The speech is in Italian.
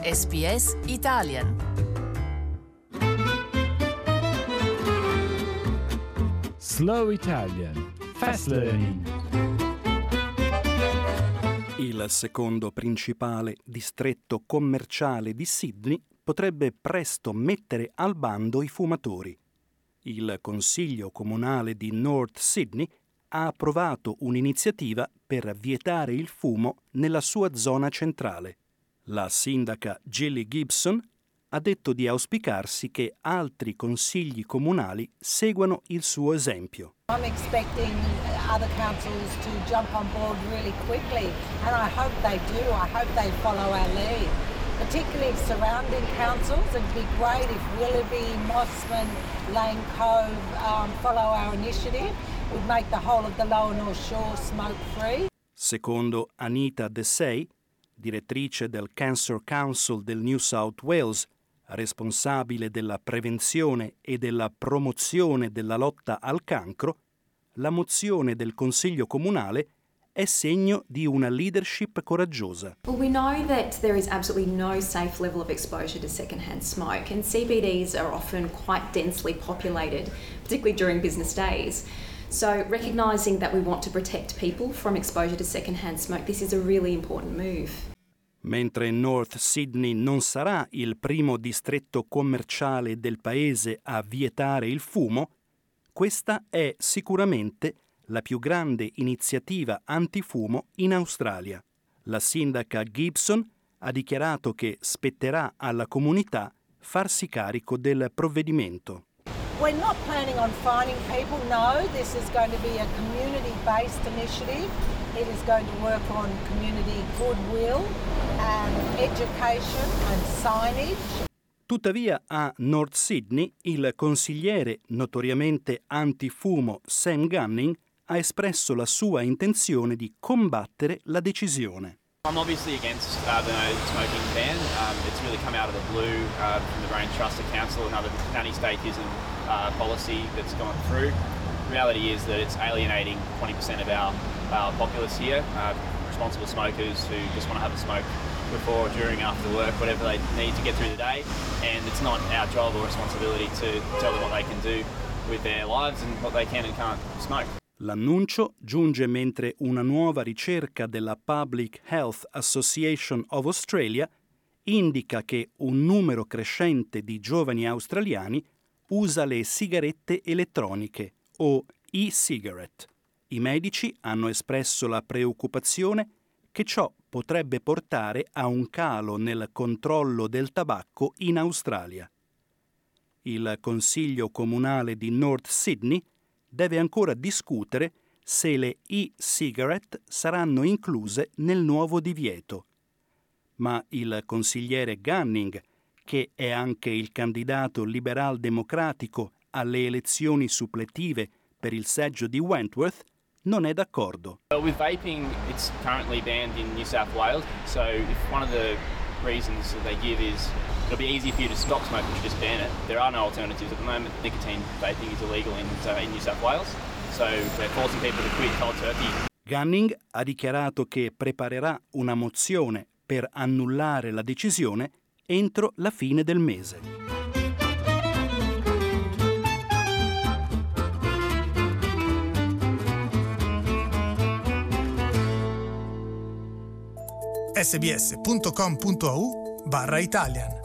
SBS Italian. Slow Italian. Fast Learning. Il secondo principale distretto commerciale di Sydney potrebbe presto mettere al bando i fumatori. Il Consiglio Comunale di North Sydney ha approvato un'iniziativa per vietare il fumo nella sua zona centrale. La sindaca Gilly Gibson ha detto di auspicarsi che altri consigli comunali seguano il suo esempio. I'm expecting other councils to jump on board really quickly, and I hope they do. I hope they follow our lead. Particularly surrounding councils, it'd be great if Willoughby, Mossman, Lane Cove follow our initiative. It would make the whole of the Lower North Shore smoke-free. Secondo Anita Desai, direttrice del Cancer Council del New South Wales, responsabile della prevenzione e della promozione della lotta al cancro, la mozione del Consiglio Comunale è segno di una leadership coraggiosa. Well, we know that there is absolutely no safe level of exposure to secondhand smoke, and CBDs are often quite densely populated, particularly during business days. So recognising that we want to protect people from exposure to secondhand smoke, this is a really important move. Mentre North Sydney non sarà il primo distretto commerciale del paese a vietare il fumo, questa è sicuramente la più grande iniziativa antifumo in Australia. La sindaca Gibson ha dichiarato che spetterà alla comunità farsi carico del provvedimento. We're not planning on fining people, no. This is going to be a community-based initiative. It is going to work on community goodwill and education and signage. Tuttavia a North Sydney il consigliere notoriamente antifumo Sam Gunning ha espresso la sua intenzione di combattere la decisione. I'm obviously against the no smoking ban. It's really come out of the blue from the Brain Trust Council, another anti-statism policy that's gone through. The reality is that it's alienating 20% of our populace here, responsible smokers who just want to have a smoke before, during, after work, whatever they need to get through the day, and it's not our job or responsibility to tell them what they can do with their lives and what they can and can't smoke. L'annuncio giunge mentre una nuova ricerca della Public Health Association of Australia indica che un numero crescente di giovani australiani usa le sigarette elettroniche o e-cigarette. I medici hanno espresso la preoccupazione che ciò potrebbe portare a un calo nel controllo del tabacco in Australia. Il Consiglio Comunale di North Sydney deve ancora discutere se le e-cigarette saranno incluse nel nuovo divieto. Ma il consigliere Gunning, che è anche il candidato liberal-democratico alle elezioni suppletive per il seggio di Wentworth, non è d'accordo. With vaping, it's currently banned in New South Wales, so if one of the reasons that they give is it'll be easy for you to stop smoking, you just ban it. There are no alternatives at the moment. Nicotine vaping is illegal in New South Wales, so we're forcing people to quit cold turkey. Gunning ha dichiarato che preparerà una mozione per annullare la decisione entro la fine del mese. sbs.com.au/Italian